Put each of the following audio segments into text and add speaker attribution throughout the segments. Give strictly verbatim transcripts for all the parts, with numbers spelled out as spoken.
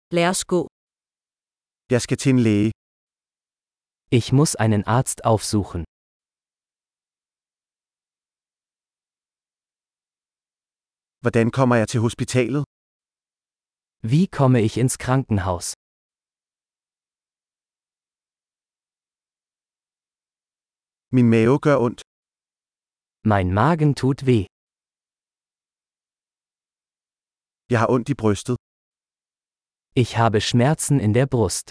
Speaker 1: Lad os gå.
Speaker 2: Jeg skal til en læge.
Speaker 3: Ich muss einen Arzt aufsuchen.
Speaker 2: Hvordan kommer jeg til hospitalet?
Speaker 3: Wie komme ich ins Krankenhaus?
Speaker 2: Min mave gør ondt.
Speaker 3: Mein Magen tut weh.
Speaker 2: Jeg har ondt i brystet.
Speaker 3: Ich habe Schmerzen in der Brust.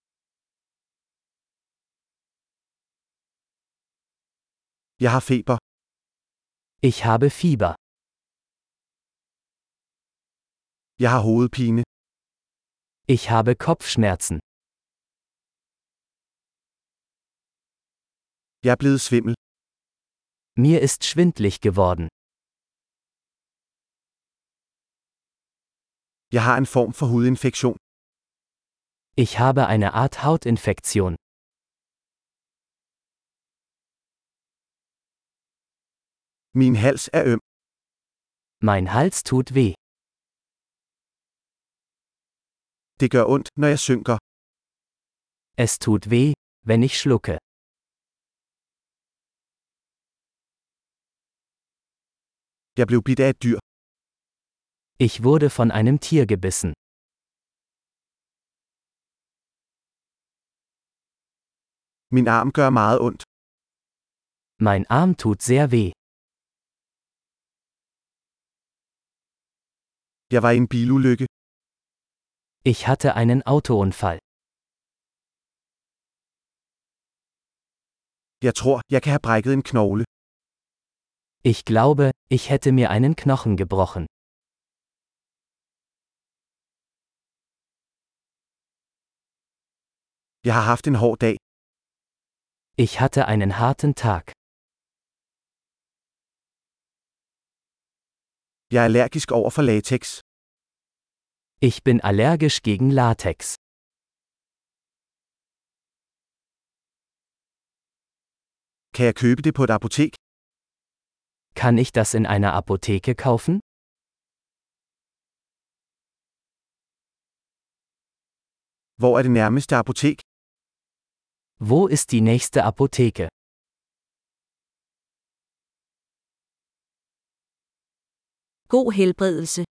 Speaker 2: Jeg har feber.
Speaker 3: Ich habe Fieber.
Speaker 2: Jeg har hovedpine.
Speaker 3: Ich habe Kopfschmerzen.
Speaker 2: Jeg er blevet svimmel.
Speaker 3: Mir ist schwindlig geworden.
Speaker 2: Jeg har en form for hudinfektion.
Speaker 3: Ich habe eine Art Hautinfektion.
Speaker 2: Min hals er øm.
Speaker 3: Mein Hals tut weh.
Speaker 2: Det gør ondt, når jeg synker.
Speaker 3: Es tut weh, wenn ich schlucke.
Speaker 2: Jeg blev bidt af et dyr.
Speaker 3: Ich wurde von einem Tier gebissen.
Speaker 2: Min arm gør meget ondt.
Speaker 3: Mein Arm tut sehr weh.
Speaker 2: Jeg var i en bilulykke.
Speaker 3: Ich hatte einen Autounfall.
Speaker 2: Jeg tror, jeg kan have brækket en knogle.
Speaker 3: Ich glaube, ich hätte mir einen Knochen gebrochen.
Speaker 2: Jeg har haft en hård dag.
Speaker 3: Ich hatte einen harten Tag.
Speaker 2: Jeg er allergisk over for latex.
Speaker 3: Ich bin allergisch gegen Latex.
Speaker 2: Kan jeg købe det på et apotek?
Speaker 3: Kann ich das in einer Apotheke kaufen?
Speaker 2: Hvor er det nærmeste apotek?
Speaker 3: Wo ist die nächste Apotheke?
Speaker 1: God helbredelse.